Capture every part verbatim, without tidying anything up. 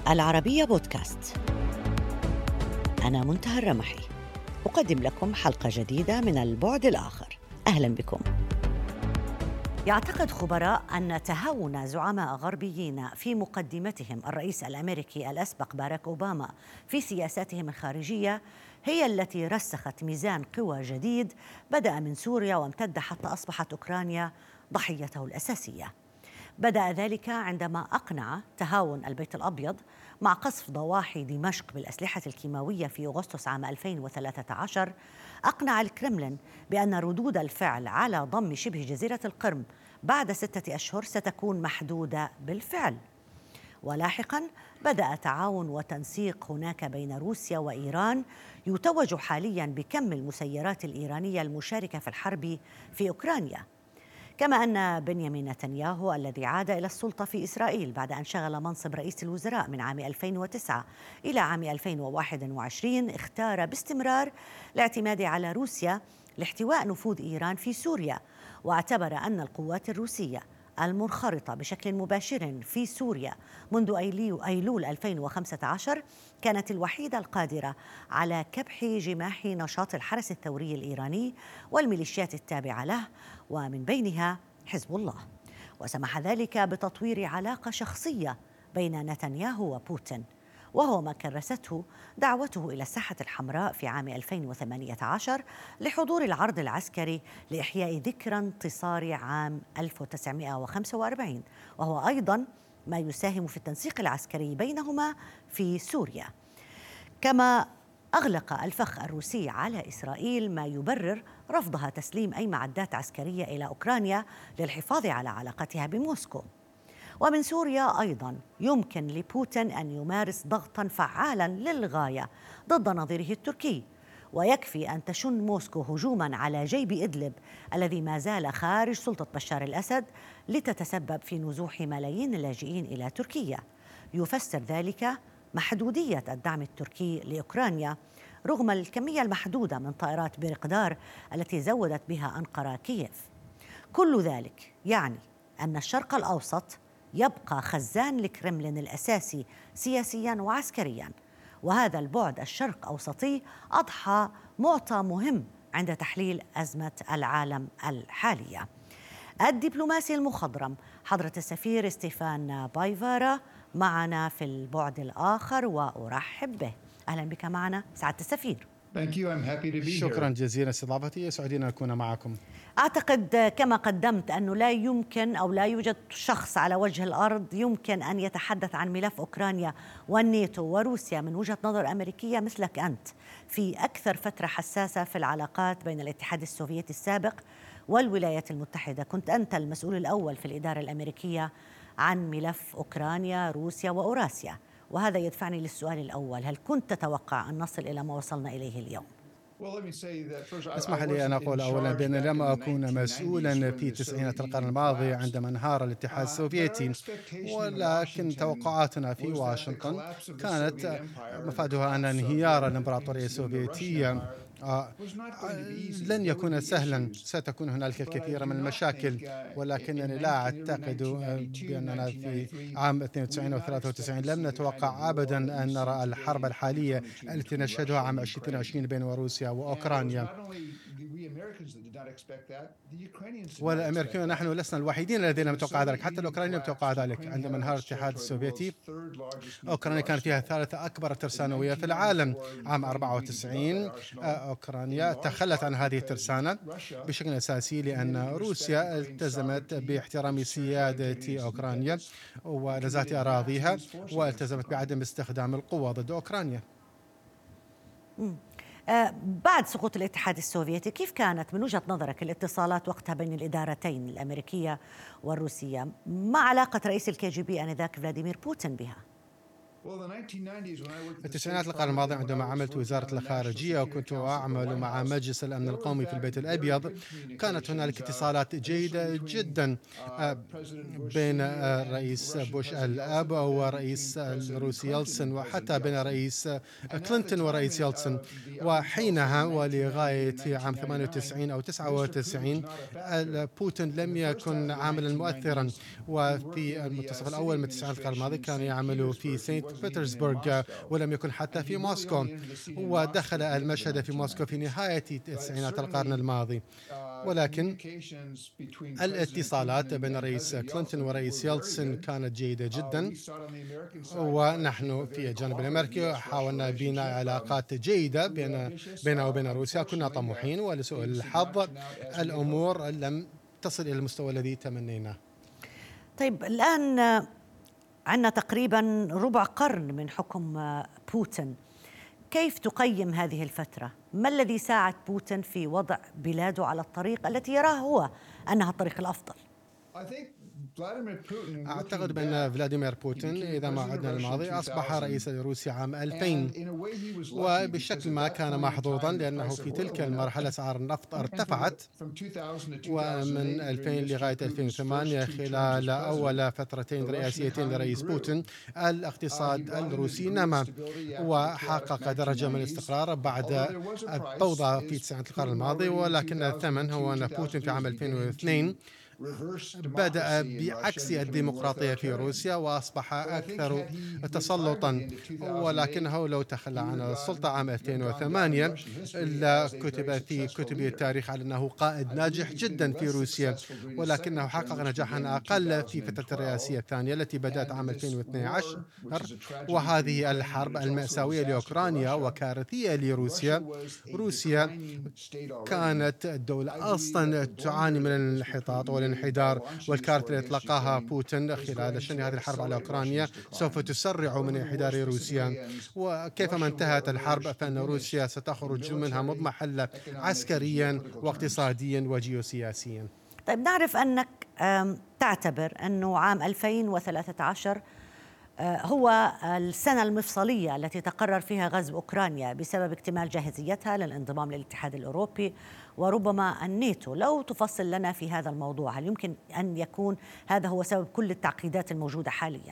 العربية بودكاست. أنا منتهى الرمحي، أقدم لكم حلقة جديدة من البعد الآخر. أهلا بكم. يعتقد خبراء أن تهاون زعماء غربيين في مقدمتهم الرئيس الأمريكي الأسبق باراك أوباما في سياساتهم الخارجية هي التي رسخت ميزان قوى جديد بدأ من سوريا وامتد حتى أصبحت أوكرانيا ضحيته الأساسية. بدأ ذلك عندما أقنع تهاون البيت الأبيض مع قصف ضواحي دمشق بالأسلحة الكيماوية في أغسطس عام ألفين وثلاثة عشر. أقنع الكرملين بأن ردود الفعل على ضم شبه جزيرة القرم بعد ستة أشهر ستكون محدودة بالفعل. ولاحقاً بدأ تعاون وتنسيق هناك بين روسيا وإيران يتوج حالياً بكم المسيرات الإيرانية المشاركة في الحرب في أوكرانيا. كما أن بنيامين نتنياهو الذي عاد إلى السلطة في إسرائيل بعد أن شغل منصب رئيس الوزراء من عام ألفين وتسعة إلى عام ألفين وواحد وعشرين اختار باستمرار الاعتماد على روسيا لاحتواء نفوذ إيران في سوريا، واعتبر أن القوات الروسية المنخرطة بشكل مباشر في سوريا منذ أيلول ألفين وخمسة عشر كانت الوحيدة القادرة على كبح جماح نشاط الحرس الثوري الإيراني والميليشيات التابعة له، ومن بينها حزب الله. وسمح ذلك بتطوير علاقة شخصية بين نتنياهو وبوتين، وهو ما كرسته دعوته إلى الساحة الحمراء في عام ألفين وثمانية عشر لحضور العرض العسكري لإحياء ذكرى انتصار عام ألف وتسعمائة وخمسة وأربعين، وهو أيضاً ما يساهم في التنسيق العسكري بينهما في سوريا. كما أغلق الفخ الروسي على إسرائيل ما يبرر رفضها تسليم أي معدات عسكرية إلى أوكرانيا للحفاظ على علاقتها بموسكو. ومن سوريا أيضاً يمكن لبوتين أن يمارس ضغطاً فعالاً للغاية ضد نظيره التركي، ويكفي أن تشن موسكو هجوماً على جيب إدلب الذي ما زال خارج سلطة بشار الأسد لتتسبب في نزوح ملايين اللاجئين إلى تركيا. يفسر ذلك محدودية الدعم التركي لأوكرانيا رغم الكمية المحدودة من طائرات بيرقدار التي زودت بها أنقرة كييف. كل ذلك يعني أن الشرق الأوسط يبقى خزان الكرملين الأساسي سياسياً وعسكرياً، وهذا البعد الشرق أوسطي أضحى معطى مهم عند تحليل أزمة العالم الحالية. الدبلوماسي المخضرم حضرة السفير ستيفان بايفارا معنا في البعد الآخر وأرحب به. أهلا بك معنا سعادة السفير. شكرا جزيلا استضافتي، سعيدين أن أكون معكم. أعتقد كما قدمت أنه لا يمكن أو لا يوجد شخص على وجه الأرض يمكن أن يتحدث عن ملف أوكرانيا والناتو وروسيا من وجهة نظر أمريكية مثلك أنت في أكثر فترة حساسة في العلاقات بين الاتحاد السوفيتي السابق والولايات المتحدة. كنت أنت المسؤول الأول في الإدارة الأمريكية عن ملف أوكرانيا روسيا وأوراسيا، وهذا يدفعني للسؤال الأول: هل كنت تتوقع أن نصل إلى ما وصلنا إليه اليوم؟ اسمح لي أن أقول أولا بأن لم أكون مسؤولا في تسعينات القرن الماضي عندما انهار الاتحاد السوفيتي، ولكن توقعاتنا في واشنطن كانت مفادها أن انهيار الإمبراطورية السوفيتية آه لن يكون سهلا، ستكون هنالك الكثير من المشاكل، ولكنني لا أعتقد بأننا في عام اثنين وتسعين أو ثلاثة وتسعين لم نتوقع أبدا أن نرى الحرب الحالية التي نشهدها عام ألفين واثنين وعشرين بين روسيا وأوكرانيا. والأمريكيون نحن لسنا الوحيدين الذين لم يتوقعوا ذلك، حتى الأوكرانيين لم يتوقعوا ذلك. عندما انهار الاتحاد السوفيتي أوكرانيا كانت فيها ثالث أكبر ترسانوية في العالم. عام أربعة وتسعين أوكرانيا تخلت عن هذه الترسانة بشكل أساسي لأن روسيا التزمت باحترام سيادة أوكرانيا ونزاهة أراضيها، والتزمت بعدم استخدام القوة ضد أوكرانيا. آه بعد سقوط الاتحاد السوفيتي كيف كانت من وجهة نظرك الاتصالات وقتها بين الإدارتين الأمريكية والروسية، مع علاقة رئيس الكي جي بي آنذاك فلاديمير بوتين بها؟ في التسعينات القرن الماضي عندما عملت وزارة الخارجية وكنت أعمل مع مجلس الأمن القومي في البيت الأبيض، كانت هنالك اتصالات جيدة جدا بين الرئيس بوش الأب ورئيس الروسي يلتسن، وحتى بين رئيس كلينتون ورئيس يلتسن. وحينها ولغاية عام ثمانية وتسعين أو تسعة وتسعين بوتين لم يكن عاملا مؤثرا، وفي المنتصف الأول من التسعينات القرن الماضي كان يعمل في سينت بطرسبرغ ولم يكن حتى في موسكو، ودخل المشهد في موسكو في نهاية تسعينات القرن الماضي. ولكن الاتصالات بين الرئيس كلينتون ورئيس يلتسن كانت جيدة جدا، ونحن في الجانب الأمريكي حاولنا بناء علاقات جيدة بين بيننا وبين روسيا. كنا طموحين، ولسوء الحظ الأمور لم تصل إلى المستوى الذي تمنيناه. طيب، الآن عندنا تقريبا ربع قرن من حكم بوتين، كيف تقيم هذه الفترة؟ ما الذي ساعد بوتين في وضع بلاده على الطريق التي يراه هو أنها الطريق الأفضل؟ أعتقد بأن فلاديمير بوتين إذا ما عدنا الماضي أصبح رئيسا لروسيا عام ألفين، وبشكل ما كان محظوظا لأنه في تلك المرحلة أسعار النفط ارتفعت، ومن ألفين لغاية ألفين وثمانية خلال أول فترتين رئاسيتين لرئيس بوتين الاقتصاد الروسي نما وحقق درجة من الاستقرار بعد الفوضى في تسعينات القرن الماضي. ولكن الثمن هو أن بوتين في عام ألفين واثنين بدأ بعكس الديمقراطية في روسيا وأصبح أكثر تسلطا، ولكنه لو تخلى عن السلطة عام ألفين وثمانية لا كتب في كتب التاريخ على أنه قائد ناجح جدا في روسيا، ولكنه حقق نجاحا أقل في فترة الرئاسية الثانية التي بدأت عام ألفين واثني عشر، وهذه الحرب المأساوية لأوكرانيا وكارثية لروسيا. روسيا كانت دولة أصلا تعاني من الانحطاط والانحدار، والكارثة التي اطلقها بوتين خلال شن هذه الحرب على أوكرانيا سوف تسرع من انحدار روسيا. وكيفما انتهت الحرب فإن روسيا ستخرج منها مضمحلة عسكريا واقتصاديا وجيوسياسيا. طيب، نعرف أنك تعتبر أنه عام ألفين وثلاثة عشر هو السنة المفصلية التي تقرر فيها غزو أوكرانيا بسبب اكتمال جاهزيتها للانضمام للاتحاد الأوروبي وربما الناتو. لو تفصل لنا في هذا الموضوع، هل يمكن أن يكون هذا هو سبب كل التعقيدات الموجودة حالياً؟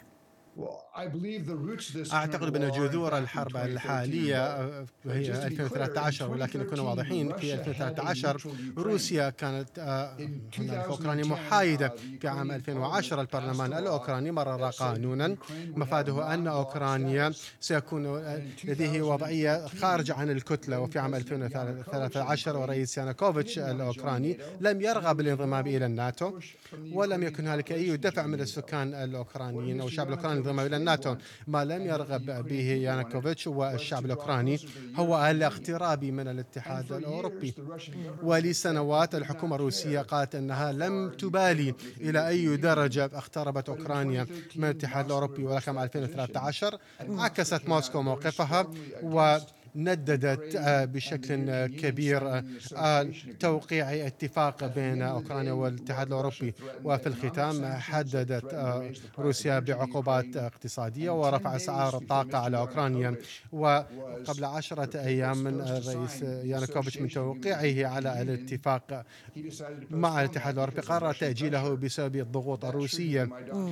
أعتقد بأن جذور الحرب الحالية هي ألفين وثلاثة عشر، ولكن نكون واضحين في ألفين وثلاثة عشر روسيا كانت هناك أوكرانيا محايدة. في عام ألفين وعشرة البرلمان الأوكراني مرر قانونا مفاده أن أوكرانيا سيكون لديه وضعية خارجة عن الكتلة. وفي عام ألفين وثلاثة عشر ورئيس يانوكوفيتش الأوكراني لم يرغب بالانضمام إلى الناتو، ولم يكن هناك أي دفع من السكان الأوكرانيين أو الشعب الأوكراني الانضمام إلى الناتو. ما لم يرغب به يانوكوفيتش والشعب الأوكراني هو الاقتراب من الاتحاد الأوروبي. ولسنوات الحكومة الروسية قالت أنها لم تبالي إلى أي درجة اقتربت أوكرانيا من الاتحاد الأوروبي، ولكن عام ألفين وثلاثة عشر عكست موسكو موقفها و نددت بشكل كبير توقيع اتفاق بين أوكرانيا والاتحاد الأوروبي. وفي الختام حددت روسيا بعقوبات اقتصادية ورفع أسعار الطاقة على أوكرانيا. وقبل عشرة أيام من الرئيس يانوكوفيتش من توقيعه على الاتفاق مع الاتحاد الأوروبي قرر تأجيله بسبب الضغوط الروسية،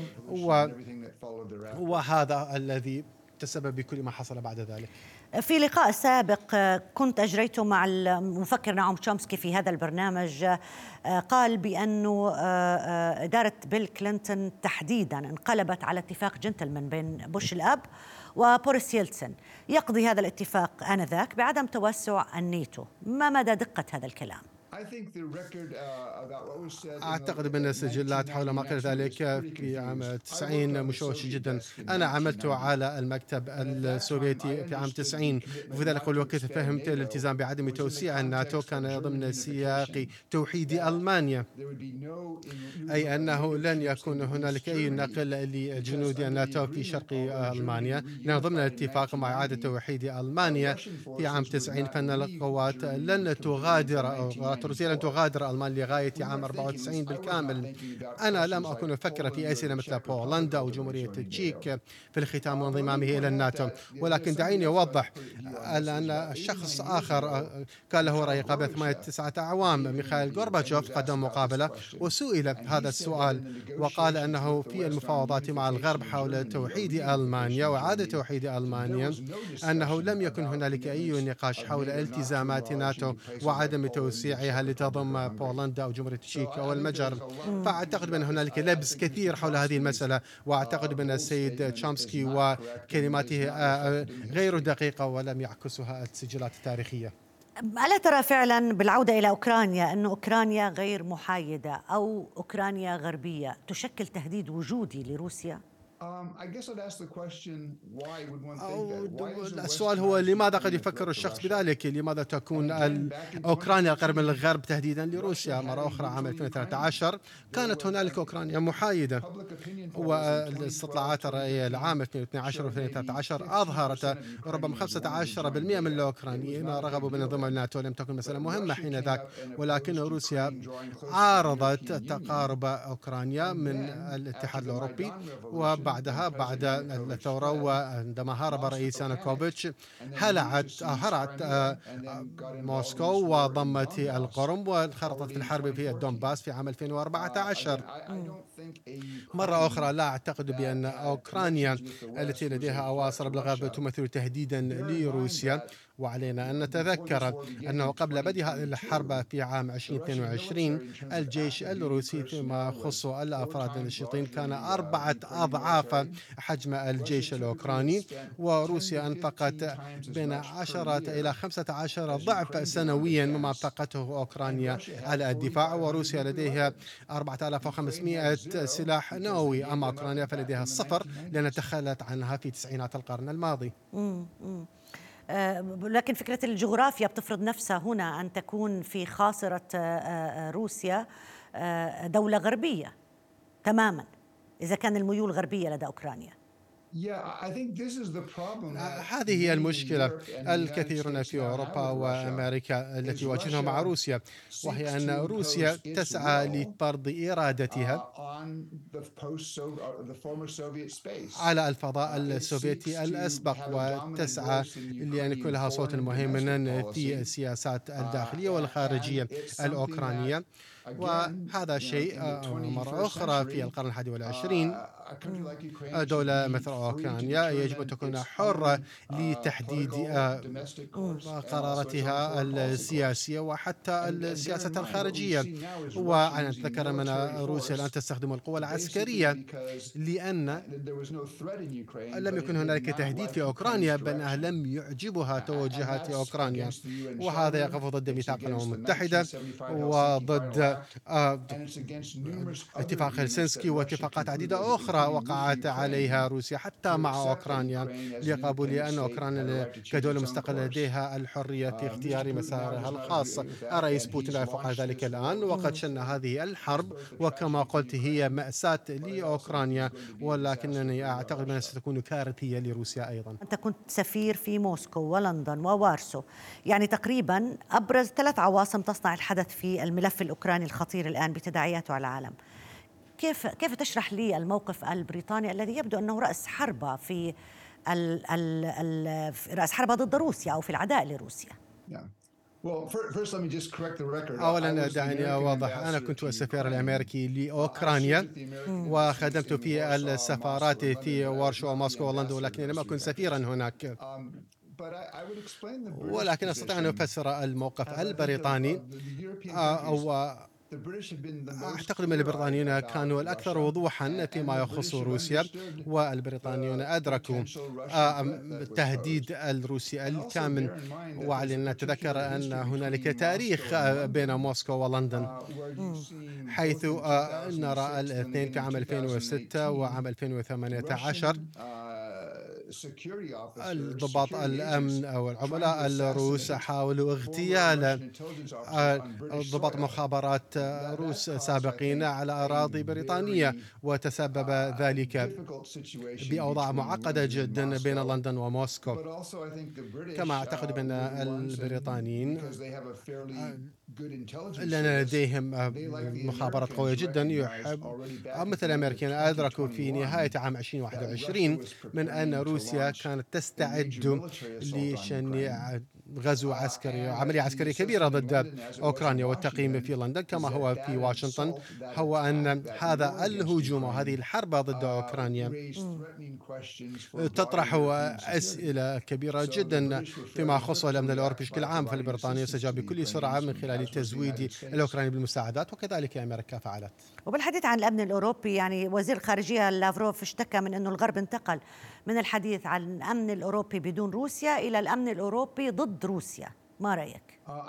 وهذا الذي تسبب بكل ما حصل بعد ذلك. في لقاء سابق كنت أجريته مع المفكر نعوم شومسكي في هذا البرنامج، قال بأنه إدارة بيل كلينتون تحديدا انقلبت على اتفاق جنتلمان بين بوش الأب وبوريس يلتسن يقضي هذا الاتفاق آنذاك بعدم توسع الناتو. ما مدى دقة هذا الكلام؟ أعتقد بأن السجلات حول ما قيل ذلك في عام تسعين مشوشة جدا. أنا عملت على المكتب السوفيتي في عام تسعين، وفي ذلك الوقت فهمت الالتزام بعدم توسيع الناتو كان ضمن سياق توحيد ألمانيا، أي أنه لن يكون هنالك أي نقل لجنود الناتو في شرق ألمانيا، لأن ضمن الاتفاق مع إعادة توحيد ألمانيا في عام تسعين فإن القوات لن تغادر روسيا لن تغادر ألمانيا لغاية عام أربعة وتسعين بالكامل. أنا لم أكن أفكر في أي سنة مثل بولندا أو جمهورية التشيك في الختام وانضمامه إلى الناتو، ولكن دعيني أوضح لأن شخص آخر كان له رأي قبل ثمانية تسعة أعوام، ميخائيل غورباتشوف، قدم مقابلة وسئل هذا السؤال وقال أنه في المفاوضات مع الغرب حول توحيد ألمانيا وإعادة توحيد ألمانيا أنه لم يكن هنالك أي نقاش حول التزامات ناتو وعدم توسيعها لتضم بولندا أو جمهورية التشيك أو المجر. فأعتقد بأن هنالك لبس كثير حول هذه المسألة، وأعتقد بأن السيد تشومسكي وكلماته غير دقيقة ولم يعكسها السجلات التاريخية. ألا ترى فعلا بالعودة إلى أوكرانيا أن أوكرانيا غير محايدة أو أوكرانيا غربية تشكل تهديد وجودي لروسيا؟ السؤال هو لماذا قد يفكر الشخص بذلك؟ لماذا تكون أوكرانيا القريبة من الغرب تهديدا لروسيا؟ مرة أخرى عام ألفين وثلاثة عشر كانت هنالك أوكرانيا محايدة، والاستطلاعات الرأيية لعام ألفين واثني عشر وألفين وثلاثة عشر أظهرت ربما خمسة عشر بالمئة من الأوكرانيين رغبوا بانضمام الناتو. لم تكن مسألة مهمة حينذاك، ولكن روسيا عارضت تقارب أوكرانيا من الاتحاد الأوروبي، وبعد بعدها بعد الثورة وعندما هرب الرئيس يانوكوفيتش هلعت هرعت موسكو وضمت القرم وانخرطت في الحرب في الدونباس في عام ألفين وأربعة عشر. مرة أخرى لا أعتقد بأن أوكرانيا التي لديها أواصر بالغرب تمثل تهديدا لروسيا، وعلينا أن نتذكر أنه قبل بدء هذه الحرب في عام ألفين واثنين وعشرين الجيش الروسي فيما يخص الأفراد النشطين كان أربعة أضعاف حجم الجيش الأوكراني، وروسيا أنفقت بين عشرة إلى خمسة عشر ضعف سنويا مما أنفقته أوكرانيا على الدفاع، وروسيا لديها أربعة آلاف وخمسمئة سلاح نووي، أما أوكرانيا فلديها الصفر لأن تخلت عنها في تسعينات القرن الماضي. مم. مم. لكن فكرة الجغرافيا بتفرض نفسها هنا أن تكون في خاصرة روسيا دولة غربية تماما إذا كان الميول غربية لدى أوكرانيا. هذه هي المشكلة الكثيرون في أوروبا وأمريكا التي يواجهونها مع روسيا، وهي أن روسيا تسعى لفرض إرادتها على الفضاء السوفيتي الأسبق، وتسعى لأن يكون لها صوت مهيمنا في السياسات الداخلية والخارجية الأوكرانية. وهذا شيء مرة أخرى في القرن الحادي والعشرين دولة مثل أوكرانيا يجب أن تكون حرة لتحديد قراراتها السياسية وحتى السياسة الخارجية. وأنا أتذكر من روسيا الآن تستخدم القوى العسكرية لأن لم يكن هنالك تهديد في أوكرانيا، بل لم يعجبها توجهات أوكرانيا، وهذا يقف ضد ميثاق الأمم المتحدة وضد اتفاق هلسنسكي واتفاقات عديدة أخرى وقعت عليها روسيا حتى مع أوكرانيا لقبول أن أوكرانيا كدولة مستقلة لديها الحرية في اختيار مسارها الخاص. الرئيس بوتين لا يفعل ذلك الآن، وقد شن هذه الحرب، وكما قلت هي مأساة لأوكرانيا، ولكنني أعتقد أنها ستكون كارثية لروسيا أيضا. أنت كنت سفير في موسكو ولندن ووارسو، يعني تقريبا أبرز ثلاث عواصم تصنع الحدث في الملف الأوكراني الخطير الآن بتداعياته على العالم. كيف كيف تشرح لي الموقف البريطاني الذي يبدو أنه رأس حربة في ال ال ال رأس حربة ضد روسيا أو في العداء لروسيا؟ أولا دعني أوضح، أنا كنت السفير الأمريكي لأوكرانيا وخدمت في السفارات في وارشوا وموسكو ولندن، ولكن لم أكن سفيرا هناك. ولكن أستطيع أن أفسر الموقف البريطاني، أو أعتقد أن البريطانيون كانوا الأكثر وضوحا فيما يخص روسيا، والبريطانيون أدركوا التهديد الروسي الكامن. وعلينا نتذكر أن هنالك تاريخ بين موسكو ولندن، حيث نرى الاثنين في عام ألفين وستة وعام ألفين وثمانية عشر الضباط الأمن أو العملاء الروس حاولوا اغتيال ضباط مخابرات روس سابقين على أراضي بريطانية، وتسبب ذلك بأوضاع معقدة جدا بين لندن وموسكو. كما أعتقد بأن البريطانيين لأن لديهم مخابرات قوية جدا يحب مثل الأمريكان أدركوا في نهاية عام ألفين وواحد وعشرين من أن روسيا روسيا كانت تستعد لشن غزو عسكري عملية عسكرية كبيرة ضد أوكرانيا. والتقييم في لندن كما هو في واشنطن هو أن هذا الهجوم وهذه الحرب ضد أوكرانيا تطرح أسئلة كبيرة جدا فيما يخص الأمن الأوروبي بشكل عام. فالبريطانيا استجاب بكل سرعة من خلال تزويد الأوكراني بالمساعدات، وكذلك أمريكا فعلت. وبالحديث عن الأمن الأوروبي، يعني وزير الخارجية لافروف اشتكى من أنه الغرب انتقل من الحديث عن الأمن الأوروبي بدون روسيا إلى الأمن الأوروبي ضد روسيا. ما رأيك؟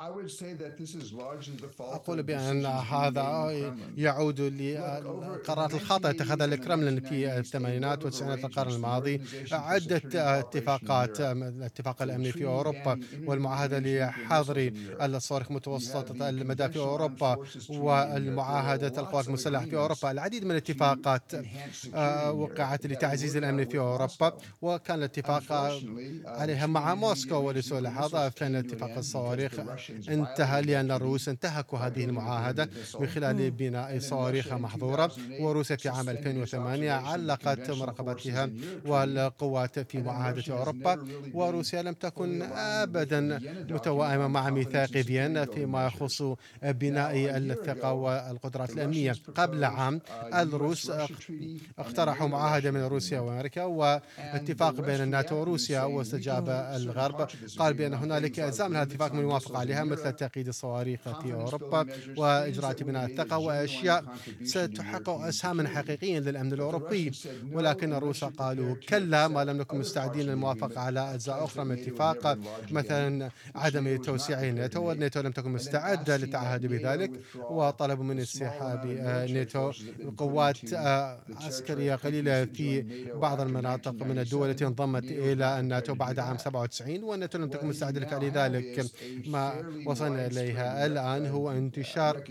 أقول بأن هذا يعود للقرارات الخاطئة اتخذها الكرملين في الثمانينات والتسعينات القرن الماضي. عدة اتفاقات، الاتفاق الأمني في أوروبا والمعاهدة لحظر الصواريخ متوسطة المدى في أوروبا والمعاهدة القوات المسلحة في أوروبا، العديد من الاتفاقات وقعت لتعزيز الأمن في أوروبا، وكان الاتفاق عليها مع موسكو. ولسوء الحظ فإن اتفاق الصواريخ انتهى لأن الروس انتهكوا هذه المعاهدة من خلال بناء صواريخ محظورة. وروسيا في عام ألفين وثمانية علقت مراقبتها والقوات في معاهدة أوروبا، وروسيا لم تكن أبدا متوائمة مع ميثاق فيينا فيما يخص بناء الثقة والقدرات الأمنية. قبل عام الروس اقترحوا معاهدة من روسيا وأمريكا واتفاق بين الناتو وروسيا، واستجاب الغرب قال بأن هنالك أجزاء من هذا الاتفاق من الموافقة عليها مثل تقييد الصواريخ في أوروبا وإجراء بناء الثقة وأشياء ستحقق أسهاما حقيقيا للأمن الأوروبي. ولكن الروس قالوا كلا، ما لم نكن مستعدين للموافقة على أجزاء أخرى من الاتفاق، مثلا عدم توسيع ناتو، والناتو لم تكن مستعدة للتعهد بذلك، وطلبوا من انسحاب ناتو قوات عسكرية قليلة في بعض المناطق من الدول التي انضمت إلى الناتو بعد عام سبعة وتسعين، والناتو لم تكن مستعدة لذلك. ما وصلنا إليها الآن هو انتشار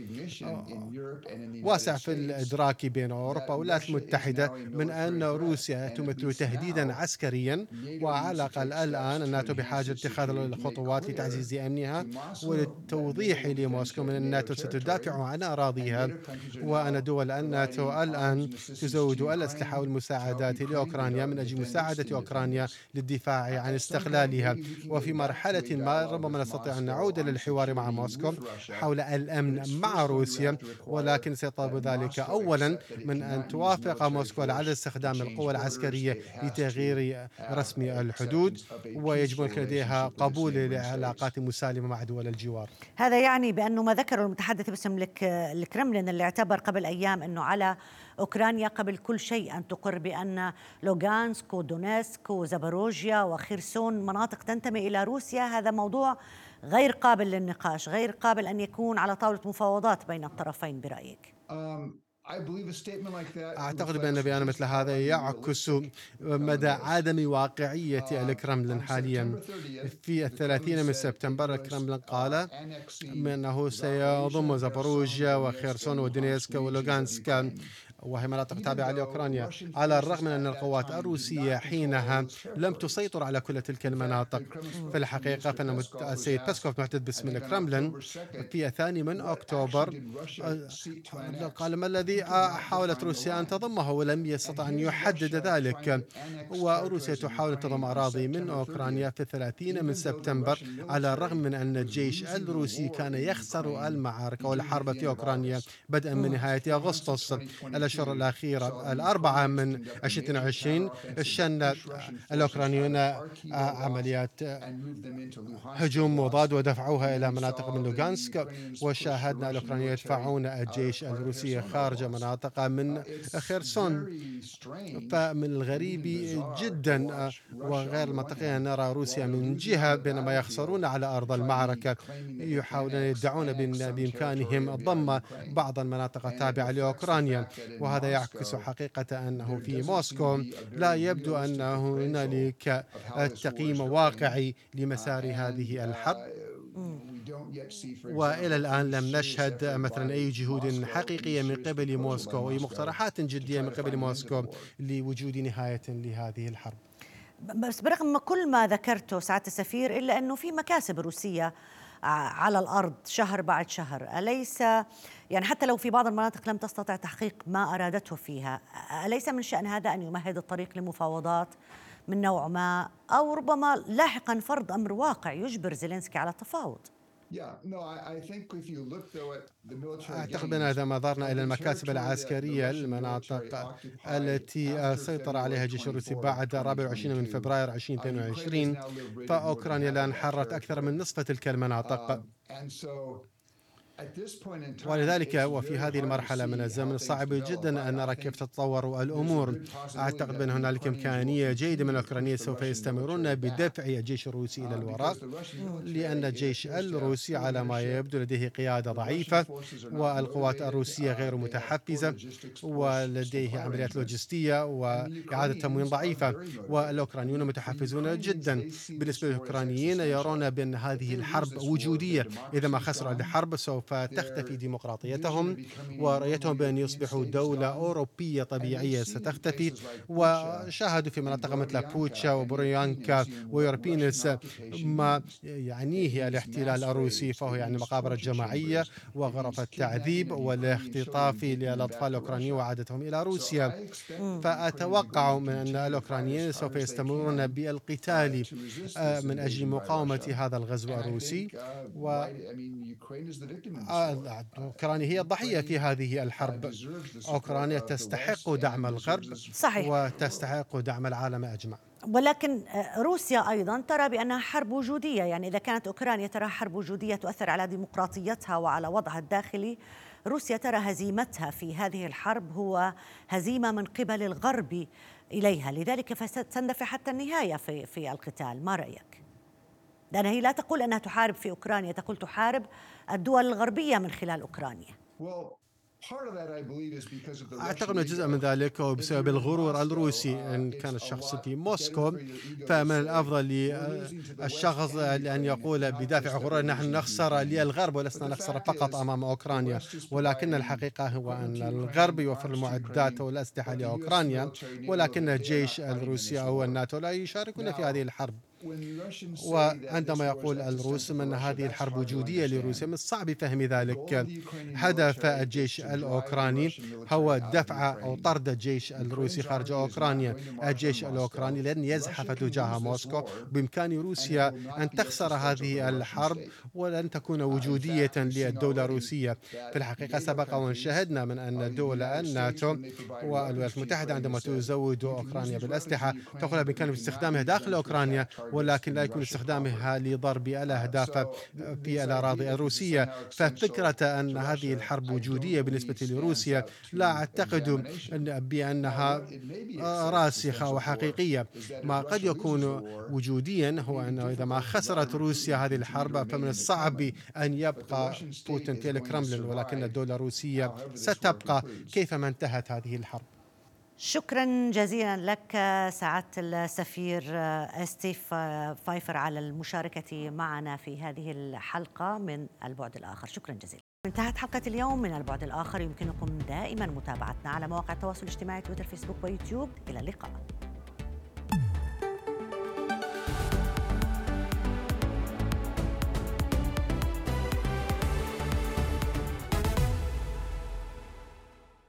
واسع في الإدراك بين أوروبا والولايات المتحدة من أن روسيا تمثل تهديدا عسكريا، وعلى الأقل الآن الناتو بحاجة لاتخاذ الخطوات لتعزيز أمنها وللتوضيح لموسكو من الناتو ستدافع عن أراضيها، وأن دول الناتو الآن تزود الأسلحة والمساعدات لأوكرانيا من أجل مساعدة أوكرانيا للدفاع عن استقلالها. وفي مرحلة ما ربما نستطيع أن نعود للحوار مع موسكو حول الأمن مع روسيا، ولكن سيطلب ذلك أولا من أن توافق موسكو على استخدام القوى العسكرية لتغيير رسم الحدود، ويجب أن لديها قبول لعلاقات مسالمة مع دول الجوار. هذا يعني بأنه ما ذكره المتحدث باسم الكرملين اللي اعتبر قبل أيام أنه على أوكرانيا قبل كل شيء أن تقر بأن لوغانسك ودونيسك وزاباروجيا وخيرسون مناطق تنتمي إلى روسيا، هذا موضوع غير قابل للنقاش، غير قابل أن يكون على طاولة مفاوضات بين الطرفين برأيك؟ أعتقد بأن بيان مثل هذا يعكس مدى عدم واقعية الكرملين حاليا. في الثلاثين من سبتمبر الكرملين قال أنه سيضم زاباروجيا وخيرسون ودونيسك ولوغانسك، وهي مناطق تابعة لأوكرانيا، على الرغم من أن القوات الروسية حينها لم تسيطر على كل تلك المناطق. في الحقيقة فإن السيد بيسكوف محدث باسم الكرملين في الثاني من أكتوبر قال ما الذي حاولت روسيا أن تضمه ولم يستطع أن يحدد ذلك، وروسيا تحاول أن تضم أراضي من أوكرانيا في الثلاثين من سبتمبر على الرغم من أن الجيش الروسي كان يخسر المعارك والحرب في أوكرانيا بدءا من نهاية أغسطس. الأشهر الأخيرة الأربعة من ألفين وعشرين شن الأوكرانيون عمليات هجوم مضاد ودفعوها إلى مناطق من لوغانسك، وشاهدنا الأوكرانيين يدفعون الجيش الروسي خارج مناطق من خيرسون. فمن الغريب جدا وغير المنطقي أن نرى روسيا من جهة بينما يخسرون على أرض المعركة يحاولون يدعون بإمكانهم ضم بعض المناطق التابعة لأوكرانيا، وهذا يعكس حقيقة أنه في موسكو لا يبدو أن هنالك تقييم واقعي لمسار هذه الحرب، وإلى الآن لم نشهد مثلا أي جهود حقيقية من قبل موسكو وأي مقترحات جدية من قبل موسكو لوجود نهاية لهذه الحرب. بس برغم كل ما ذكرته سعادة السفير إلا أنه في مكاسب روسية على الأرض شهر بعد شهر، أليس يعني حتى لو في بعض المناطق لم تستطع تحقيق ما أرادته فيها، أليس من شأن هذا أن يمهد الطريق لمفاوضات من نوع ما، أو ربما لاحقا فرض أمر واقع يجبر زيلينسكي على التفاوض؟ أعتقد بأن إذا نظرنا إلى المكاتب العسكرية المناطق التي سيطر عليها الجيش الروسي بعد الرابع والعشرين من فبراير ألفين واثنين وعشرين، فأوكرانيا الآن حررت أكثر من نصف تلك المناطق، ولذلك وفي هذه المرحلة من الزمن صعب جدا أن نرى كيف تتطور الأمور. أعتقد بأن هنالك إمكانية جيدة من الأوكرانيين سوف يستمرون بدفع الجيش الروسي إلى الوراء، لأن الجيش الروسي على ما يبدو لديه قيادة ضعيفة، والقوات الروسية غير متحفزة، ولديه عمليات لوجستية وإعادة تموين ضعيفة، والأوكرانيون متحفزون جدا. بالنسبة للأوكرانيين يرون بأن هذه الحرب وجودية، إذا ما خسروا الحرب سوف فتختفي ديمقراطيتهم، ورؤيتهم بأن يصبحوا دولة أوروبية طبيعية ستختفي. وشاهدوا في مناطق مثل بوتشا وبوريانكا ويوربينس ما يعنيه الاحتلال الروسي، فهو يعني مقابر جماعية وغرف التعذيب والاختطاف للأطفال الأوكرانيين وعادتهم إلى روسيا. فأتوقع من أن الأوكرانيين سوف يستمرون بالقتال من أجل مقاومة هذا الغزو الروسي، و أوكرانيا هي الضحية في هذه الحرب. أوكرانيا تستحق دعم الغرب، صحيح، وتستحق دعم العالم أجمع. ولكن روسيا أيضا ترى بأنها حرب وجودية، يعني إذا كانت أوكرانيا ترى حرب وجودية تؤثر على ديمقراطيتها وعلى وضعها الداخلي، روسيا ترى هزيمتها في هذه الحرب هو هزيمة من قبل الغرب إليها، لذلك فستندفع حتى النهاية في في القتال. ما رأيك؟ لأن هي لا تقول أنها تحارب في أوكرانيا، تقول تحارب الدول الغربية من خلال أوكرانيا. أعتقد أن جزء من ذلك هو بسبب الغرور الروسي. إن كان الشخص في موسكو فمن الأفضل للشخص أن يقول بدافع غرور نحن نخسر للغرب ولسنا نخسر فقط أمام أوكرانيا، ولكن الحقيقة هو أن الغرب يوفر المعدات والأسلحة لأوكرانيا، ولكن الجيش الروسي أو الناتو لا يشاركون في هذه الحرب. وعندما يقول الروس أن هذه الحرب وجودية لروسيا، من الصعب فهم ذلك. هدف الجيش الأوكراني هو دفع أو طرد الجيش الروسي خارج أوكرانيا. الجيش الأوكراني لن يزحف تجاه موسكو. بإمكان روسيا أن تخسر هذه الحرب ولن تكون وجودية للدولة الروسية. في الحقيقة سبق وأن شهدنا من أن دول الناتو والولايات المتحدة عندما تزود أوكرانيا بالأسلحة تقول بإمكانهم استخدامها داخل أوكرانيا، ولكن لا يكون استخدامها لضرب الأهداف في الأراضي الروسية. ففكرة أن هذه الحرب وجودية بالنسبة لروسيا لا أعتقد بأنها راسخة وحقيقية. ما قد يكون وجوديا هو أنه إذا ما خسرت روسيا هذه الحرب فمن الصعب أن يبقى بوتين في الكرملين، ولكن الدولة الروسية ستبقى كيفما انتهت هذه الحرب. شكرا جزيلا لك سعادة السفير ستيف فايفر على المشاركة معنا في هذه الحلقة من البعد الآخر. شكرا جزيلا. انتهت حلقة اليوم من البعد الآخر. يمكنكم دائما متابعتنا على مواقع التواصل الاجتماعي تويتر، فيسبوك ويوتيوب. إلى اللقاء.